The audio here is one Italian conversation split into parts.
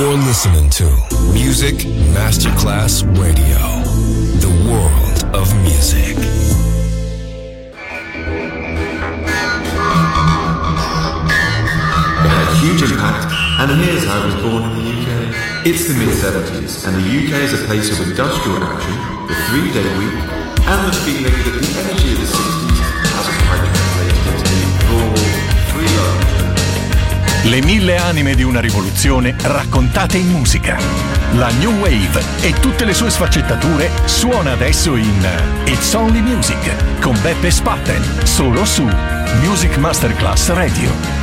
You're listening to Music Masterclass Radio, the world of music. It had a huge impact, and here's how it was born in the UK. It's the mid-70s, and the UK is a place of industrial action, the 3-day week, and the feeling that the energy of the 60s hasn't quite translated into the raw, free love. Le 1000 anime di una rivoluzione raccontate in musica. La New Wave e tutte le sue sfaccettature suona adesso in It's Only Music con Beppe Spatten, solo su Music Masterclass Radio.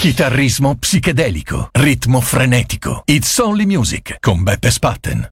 Chitarrismo psichedelico, ritmo frenetico. It's Only Music con Beppe Spatten.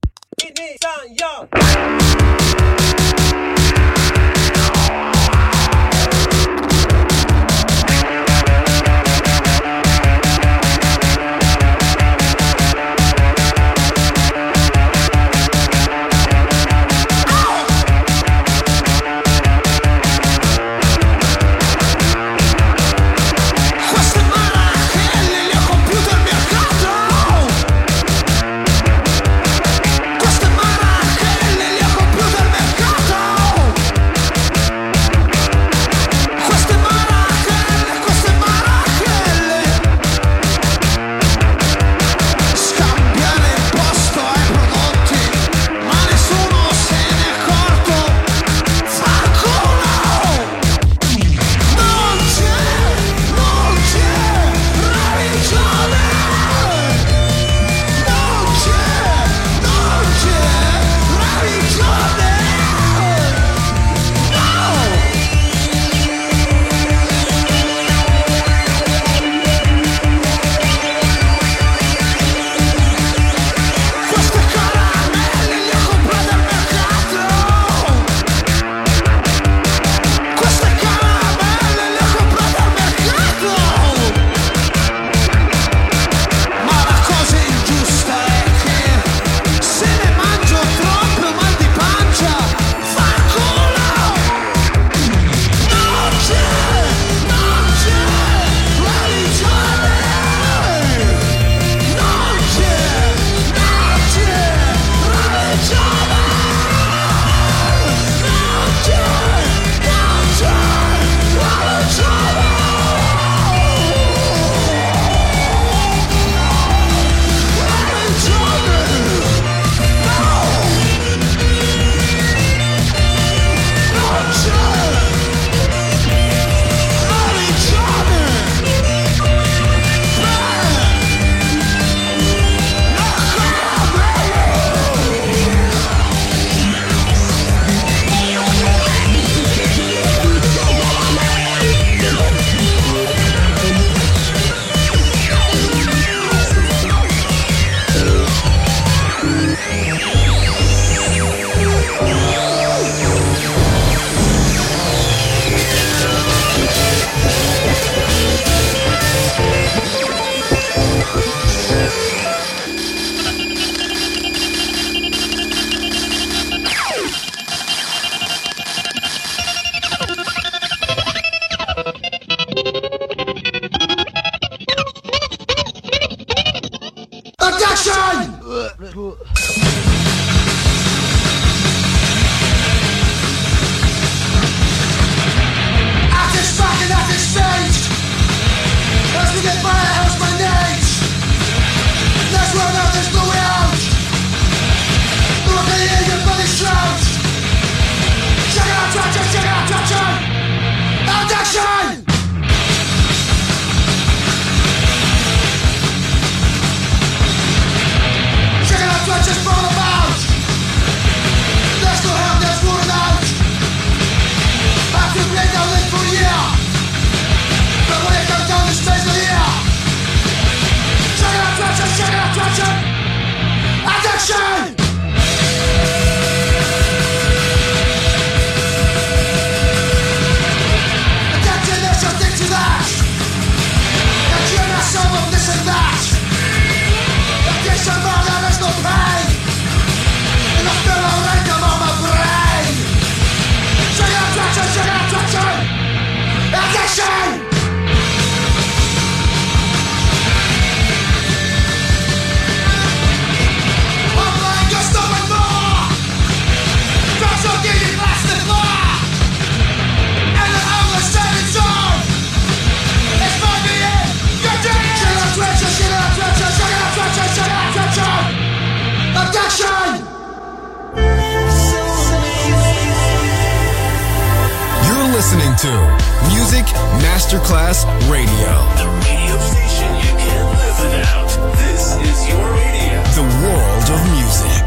Listening to Music Masterclass Radio. The radio station you can't live without. This is your radio. The world of music.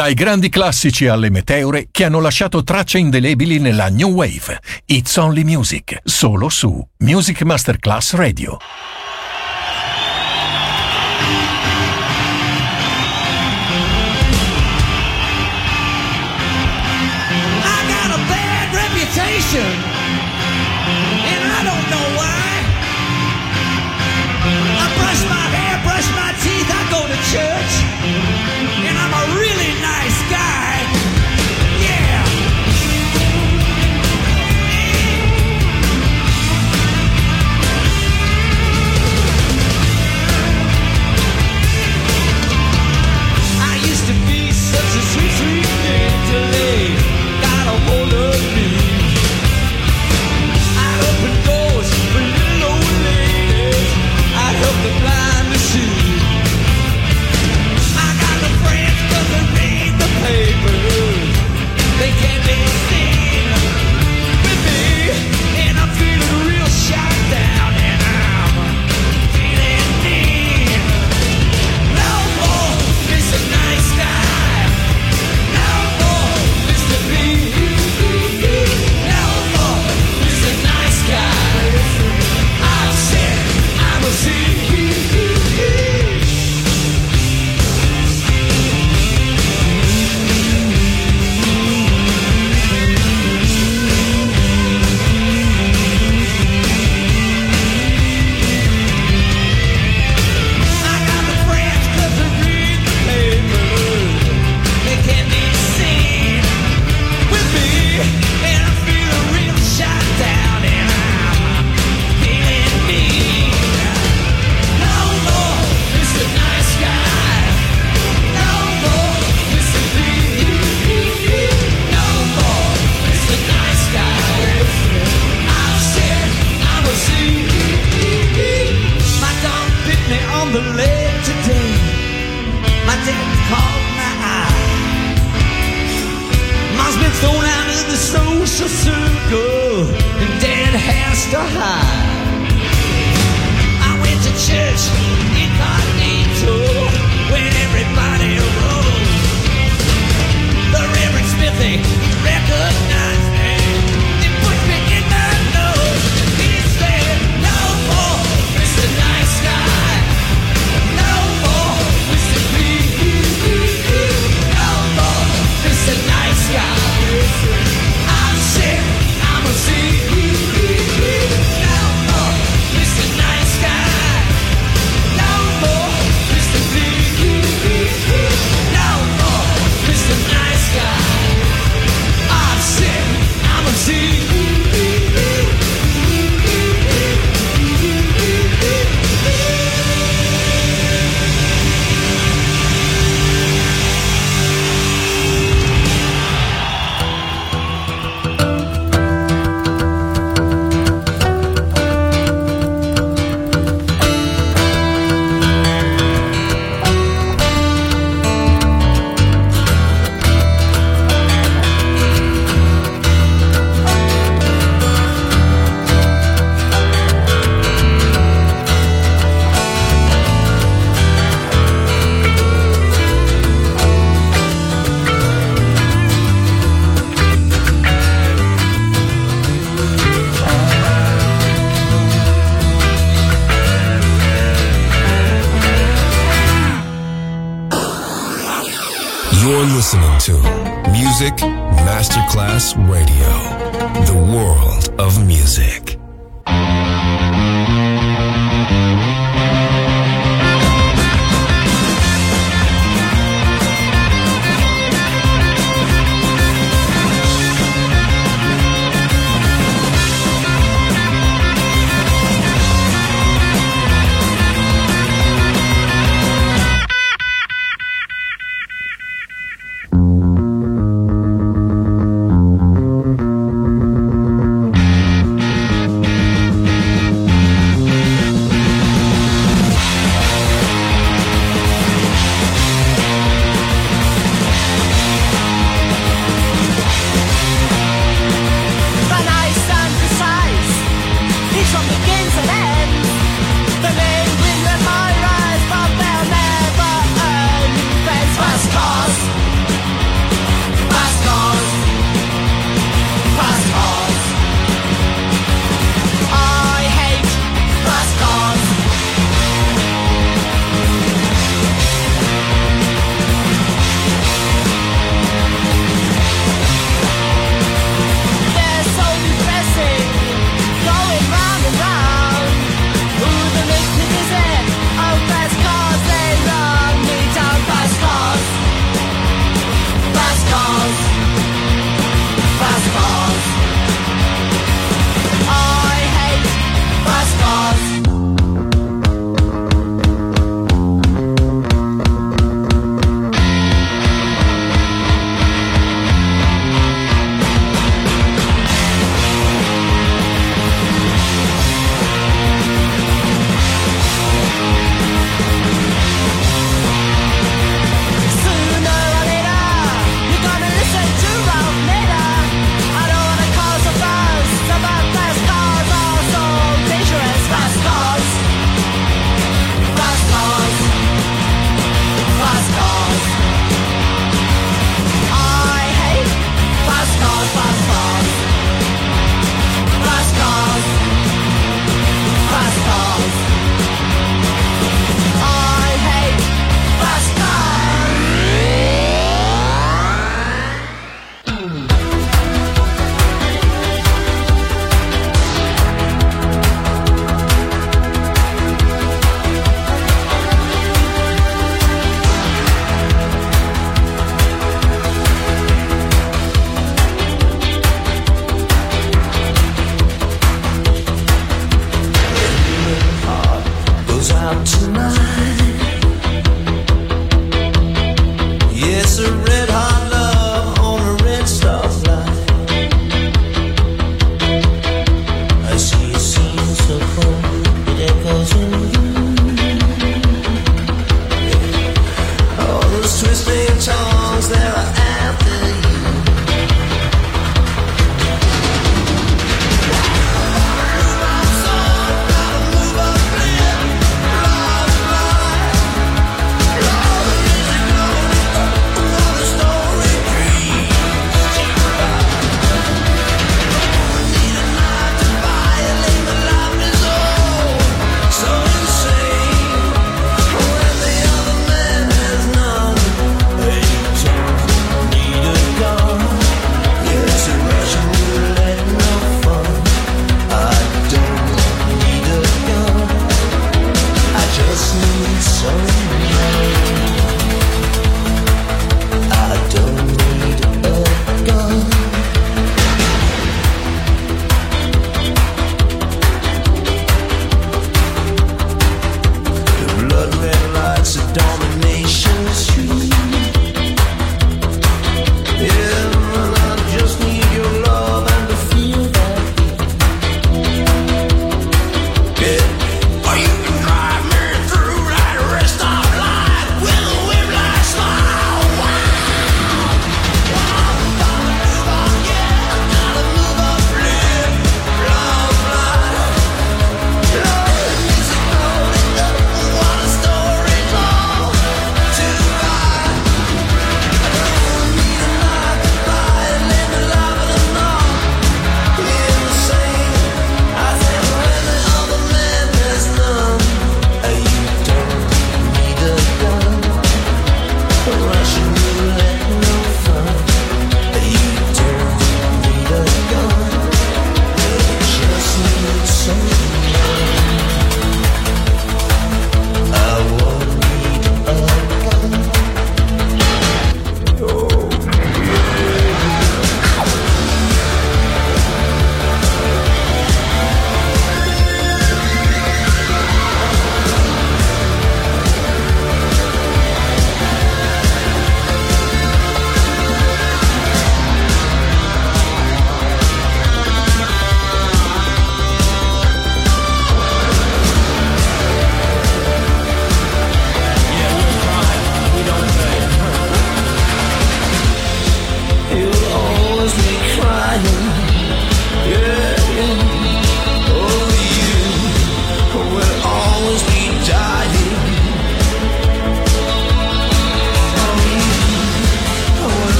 Dai grandi classici alle meteore che hanno lasciato tracce indelebili nella New Wave. It's Only Music, solo su Music Masterclass Radio. I got a bad reputation, and I don't know why. I brush my hair, brush my teeth, I go to church, and I'm a really nice guy. Yeah. I used to be such a sweet, sweet thing till they got a hold of me. I opened doors for little old ladies, I helped the blind to see. I got the friends 'cause they read the papers, they can't be seen with me, and I'm feeling real shot down, and I'm feeling mean. No more Mr. Nice Guy, no more Mr. B, no more Mr. Nice Guy. I've said I'm a C. I got the friends 'cause they read the papers, they can't be seen with me, and I'm feeling real shot down, and I'm feeling mean. No more Mr. Nice Guy, no more Mr. B, no more Mr. Nice Guy. I've said I'm a C. My dog bit me on the leg today, my dad caught my eye. Mom's been thrown out of the social circle, and dad has to hide. I went to church incognito when everybody rose. The Reverend Smithy recognized me, he pushed me in the nose. He said, no more Mr. Nice Guy, no more Mr. B, no more Mr. Nice Guy. I've said I'm a C. No more Mr. Nice Guy, no more Mr. B, no more Mr. Nice Guy. I've said I'm a C. You're listening to Music Masterclass Radio, the world of music.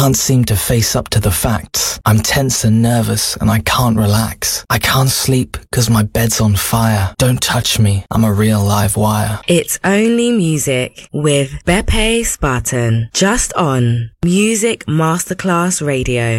can't seem to face up to the facts. I'm tense and nervous and I can't relax. I can't sleep because my bed's on fire. Don't touch me, I'm a real live wire. It's Only Music with Beppe Spartan, just on Music Masterclass Radio.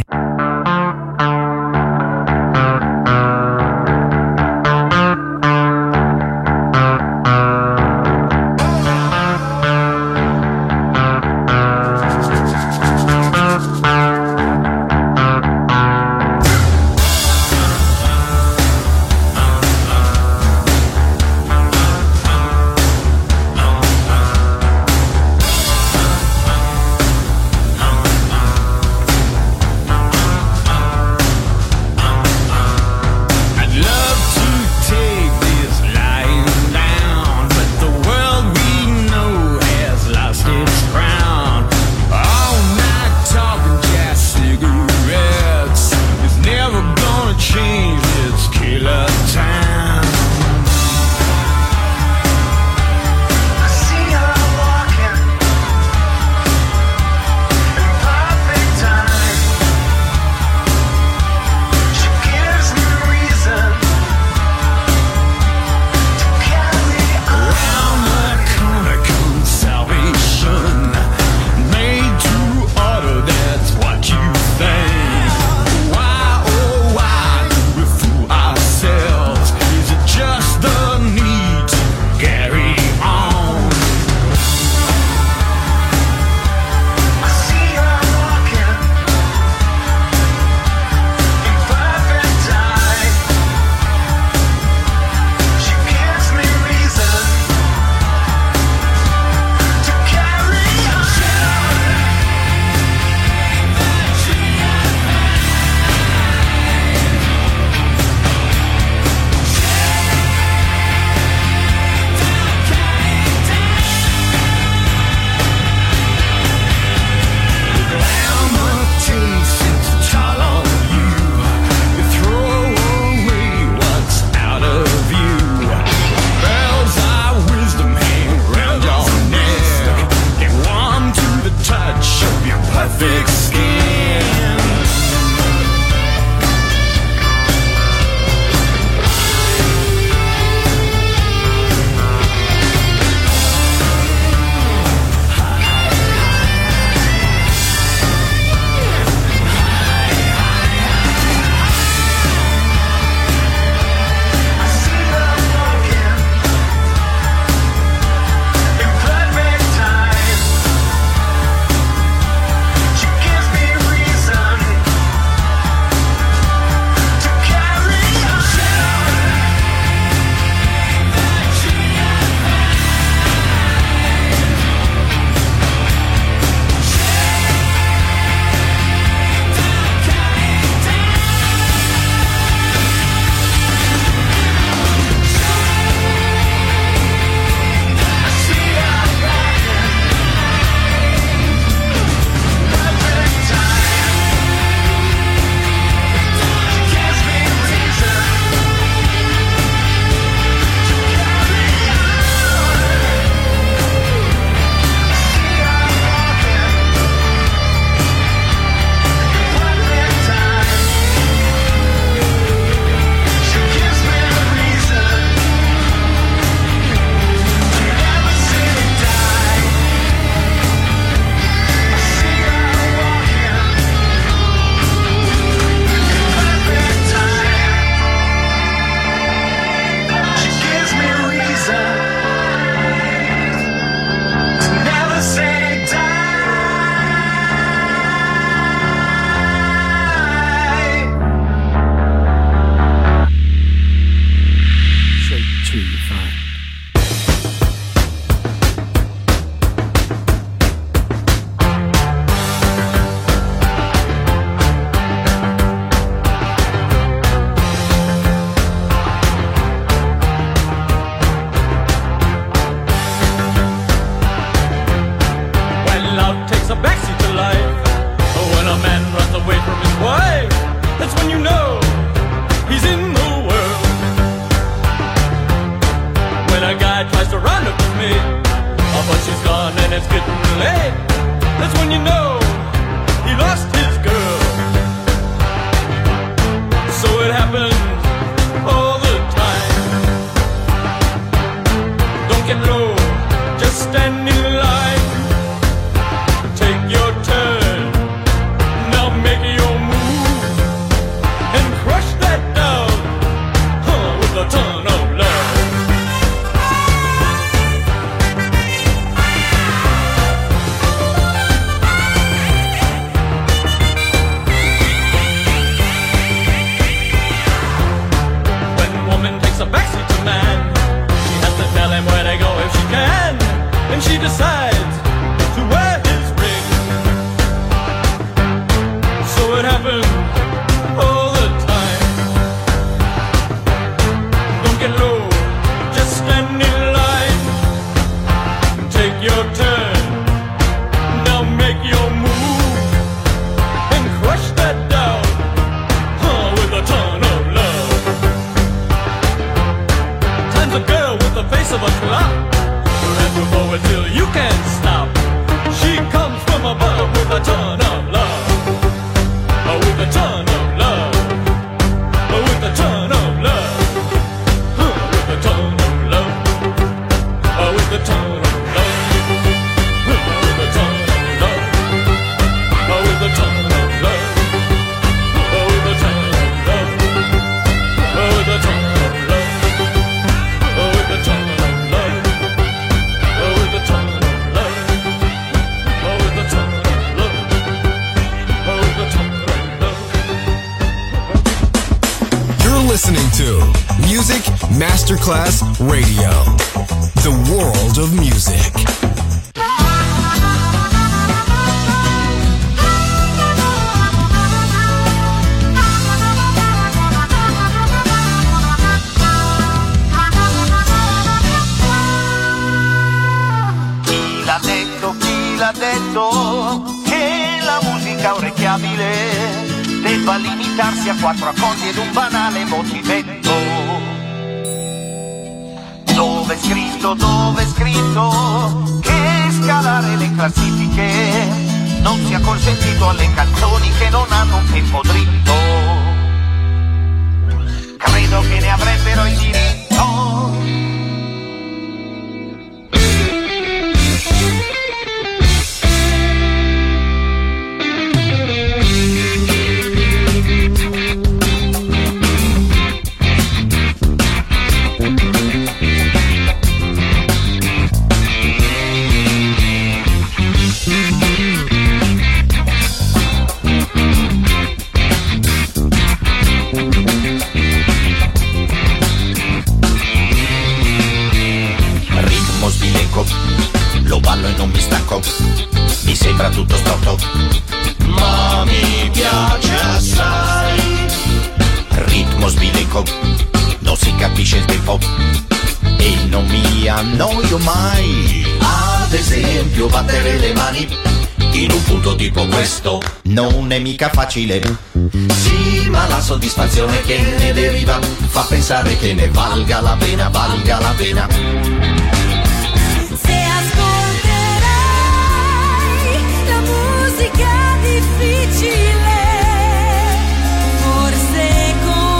but she's gone and it's getting late. That's when you know he lost of a clock. And move forward till you can't stop. She comes from above with a ton of love. With a ton of love. With a ton of love. With a ton of love. With a ton of love. With a ton of love. With a ton of love. With a ton of love. With a ton of love. With a ton of love. With a ton of love. With a ton of love. With a ton of love. You're listening to Music Masterclass Radio, the world of music. Chi l'ha detto che la musica orecchiabile debba limitarsi a 4 accordi ed un banale motivetto? Dove è scritto che scalare le classifiche non sia consentito alle canzoni che non hanno un tempo dritto? Credo che ne avrebbero il diritto. Lo ballo e non mi stanco, mi sembra tutto storto, ma mi piace assai. Ritmo sbilenco, non si capisce il tempo e non mi annoio mai. Ad esempio battere le mani in un punto tipo questo non è mica facile. Sì, ma la soddisfazione che ne deriva fa pensare che ne valga la pena, valga la pena. Musica difficile, forse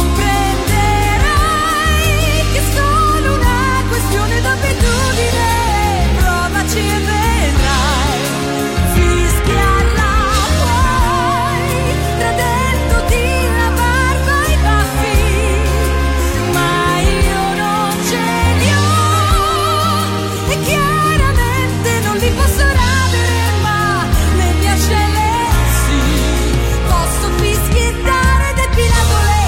comprenderai che è solo una questione d'abitudine. Provaci e vedrai, fischiala poi, tradendoti la barba e i baffi, ma io non ce li ho e chiaramente non li posso radere, ma posso fischiettare depilato lei.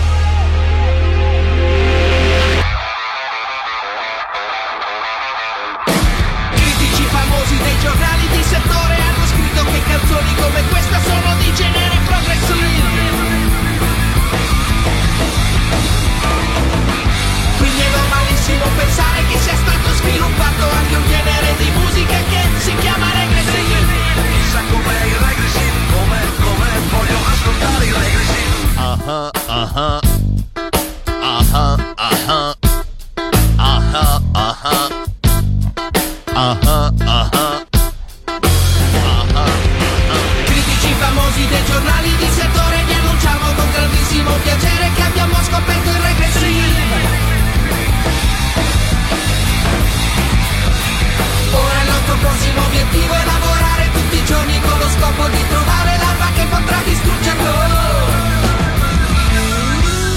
Critici famosi dei giornali di settore hanno scritto che canzoni come questa sono di genere progressive. Quindi è normalissimo pensare che sia stato sviluppato anche un genere di musica che si chiama regressive. Chissà com'è il regressive, com'è, voglio ascoltare il regressive. Critici famosi dei giornali di settore vi annunciamo con grandissimo piacere che abbiamo scoperto il regressive. Ora il nostro prossimo obiettivo è lavorare tutti i giorni con lo scopo di trovare l'arma che potrà distruggerlo.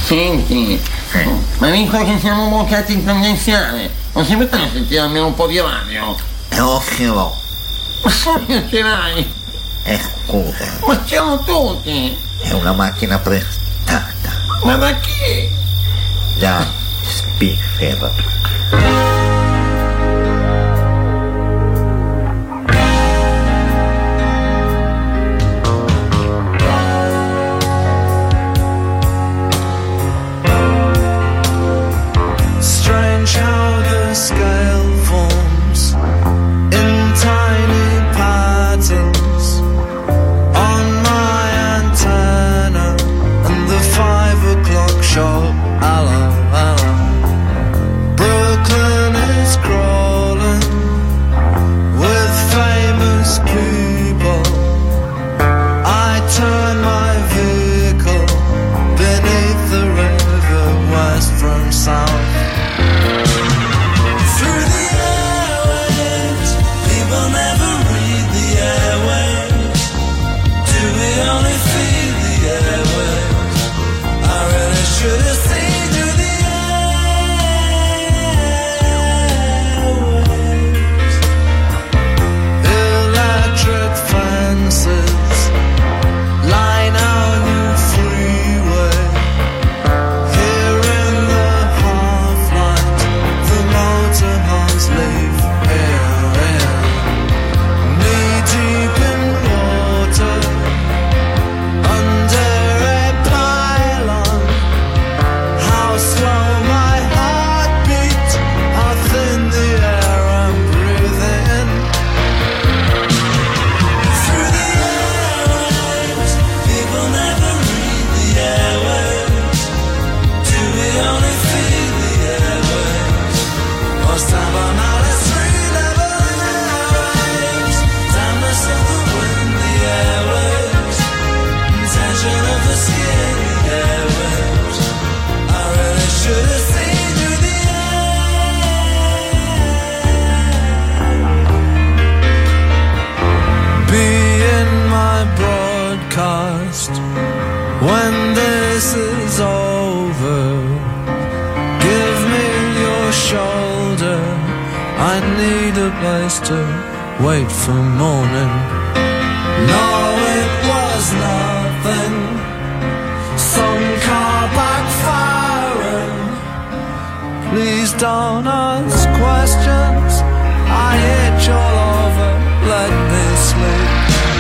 Senti, ma visto che siamo bloccati in tangenziale, non si mette a sentire almeno un po' di radio? Non ce l'ho. Ma se ce l'hai? Scusa. Ma ce l'hanno tutti! È una macchina prestata. Ma da chi? Da Spiffer. How the scale forms in tiny patterns on my antenna and the 5 o'clock show. Hello, hello. Brooklyn is crawling with famous people. I turn my vehicle beneath the river west from south. When this is over, give me your shoulder. I need a place to wait for morning. No, it was nothing. Some car backfiring. Please don't ask questions. I itch all over. Let me sleep.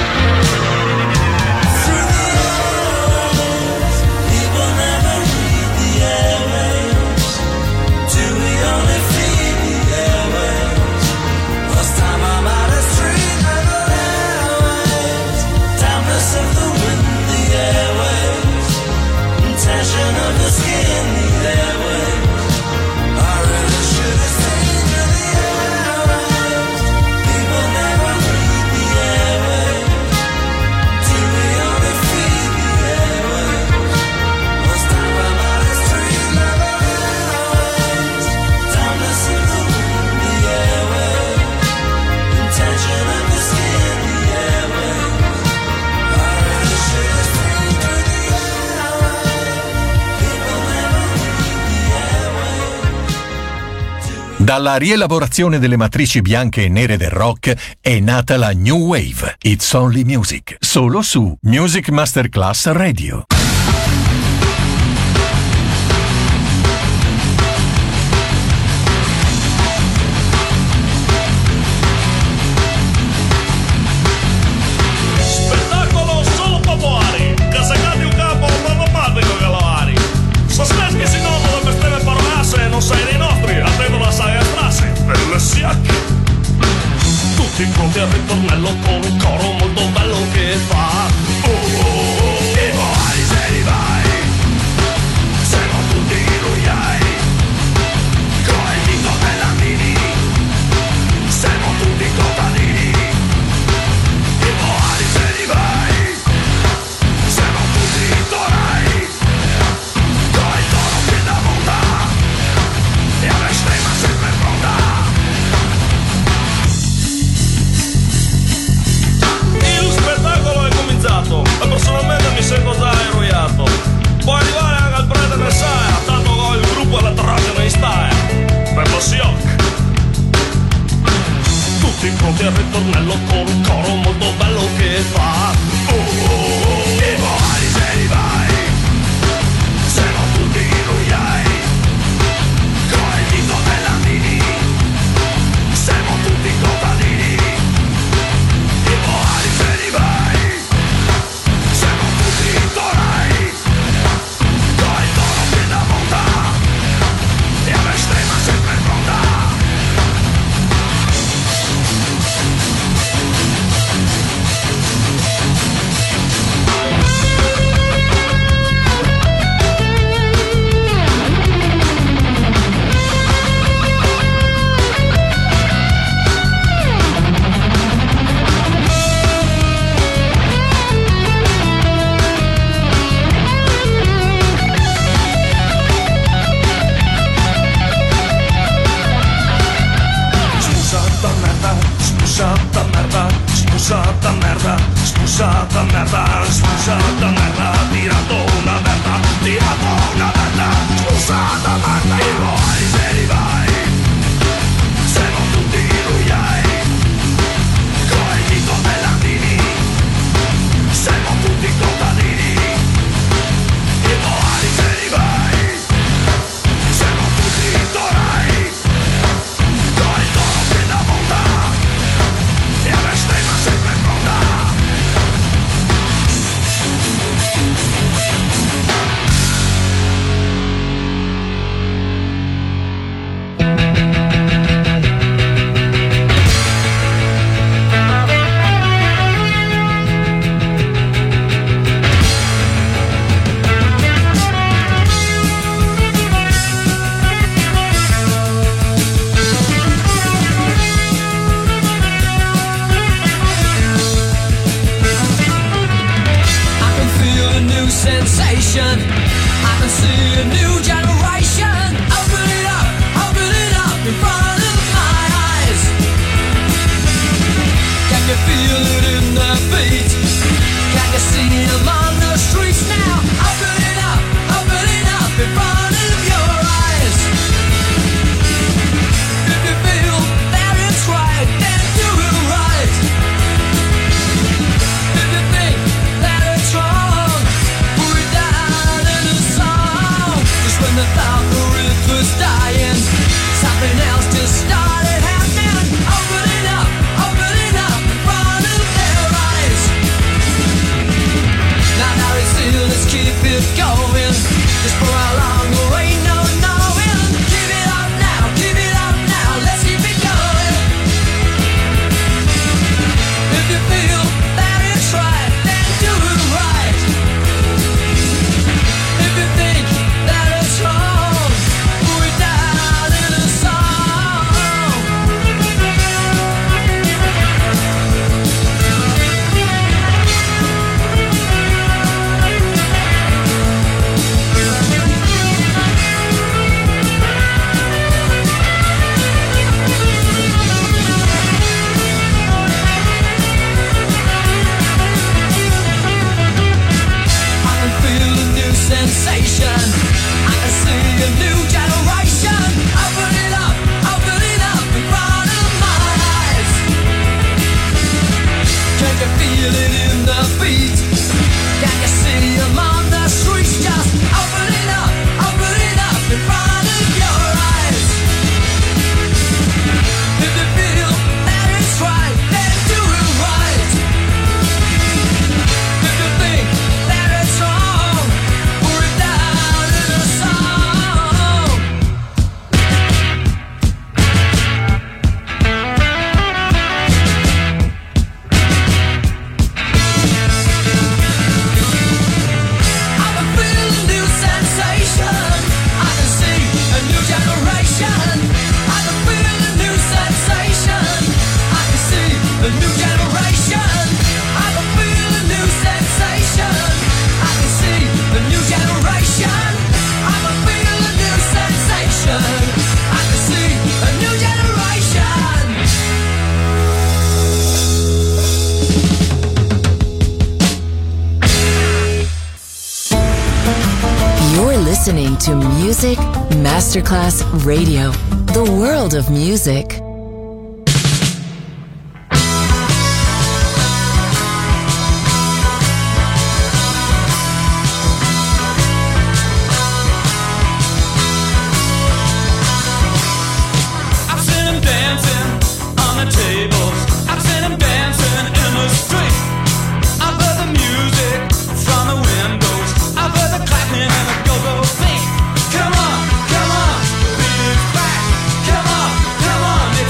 Dalla rielaborazione delle matrici bianche e nere del rock è nata la New Wave, It's Only Music, solo su Music Masterclass Radio. Spettacolo solo popolare, casacati un capo, non male con galari. Sospes che si non le bestemmie parolasse, non sei dei nostri, attendono la saga strasse, per le siacche. Tutti pronti al ritornello con un coro molto bello che fa. Oh, oh, oh, oh, merda, scusata merda, tirato una merda, scusata merda, i vuoi se li vai, siamo tutti ruiai, coi dito bellandini, siamo tutti contadini, i vuoi se li vai, siamo tutti torai, coi toro che da monta, e a bestemma sempre pronta. Sensation, I can see a new generation. Open it up in front of my eyes. Can you feel it in their feet? Can you see them on the streets now? Open it up in front of your eyes. If you feel that it's right, then do it right. If you think that it's wrong, when the thought the rhythm was dying, something else just started happening. Open it up in front of their eyes. Now it's still, let's keep it going. Just for how long there ain't no knowing. Give it up now, let's keep it going. If you feel that it's right, then do it right. If you think that it's wrong, put it down in a song. I can feel a new sensation. I can see a new generation. Open it up in front of my eyes. Can you feel it in the beat? Can you see them on the streets? Just open it up in front of your eyes. If you feel that it's right, then do it right. If you think that it's wrong, put it down in a song. I can feel a new sensation. I can see a new generation. I can feel a new sensation. I can see a new generation. I can feel a new sensation. I can see a new generation. I can feel a new sensation. I can see a new generation. You're listening to Music Masterclass Radio, the world of music. I've seen him dancing on the tables. I've seen him dancing in the street. I've heard the music from the windows. I've heard the clapping and the go-go beat. Come on, the beat is back. Come on,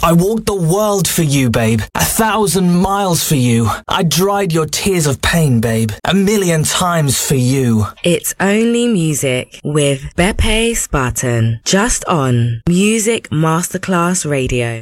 I walked the world for you, babe. 1,000 miles for you. I dried your tears of pain, babe. 1,000,000 times for you. It's Only Music with Beppe Spartan. Just on Music Masterclass Radio.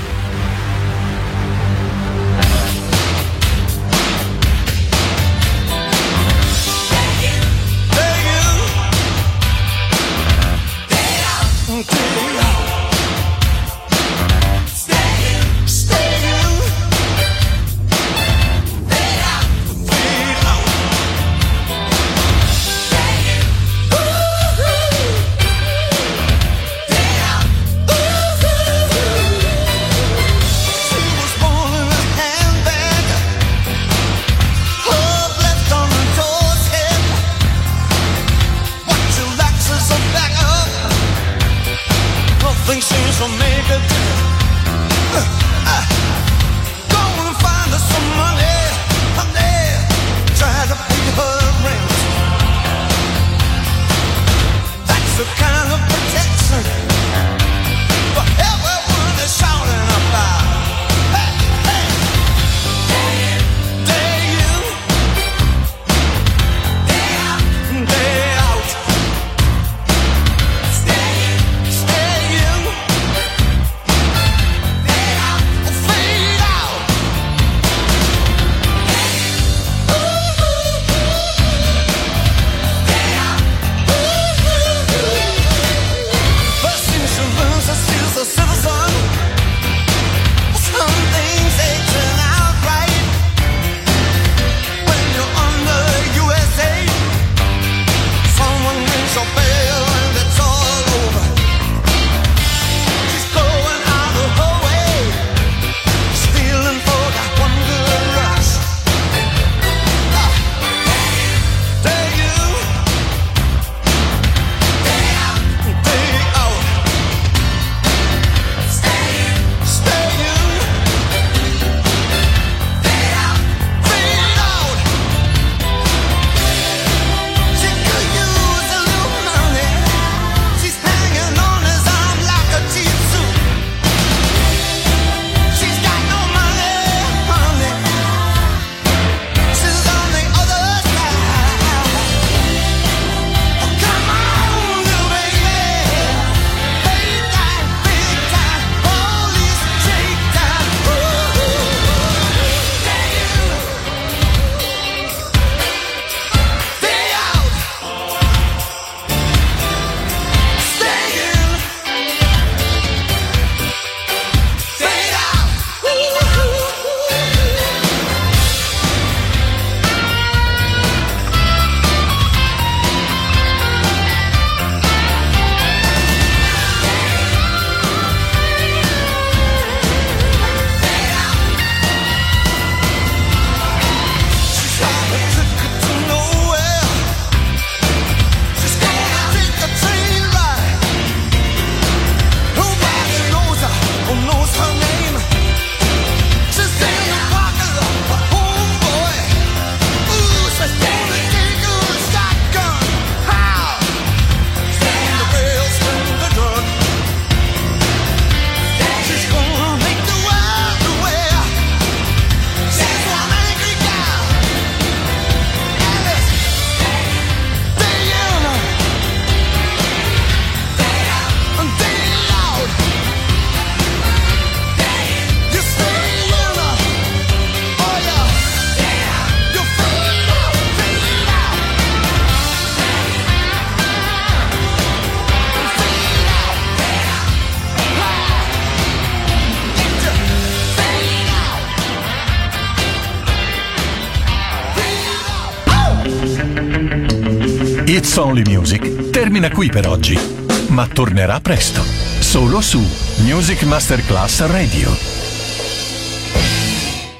It's Only Music termina qui per oggi, ma tornerà presto, solo su Music Masterclass Radio.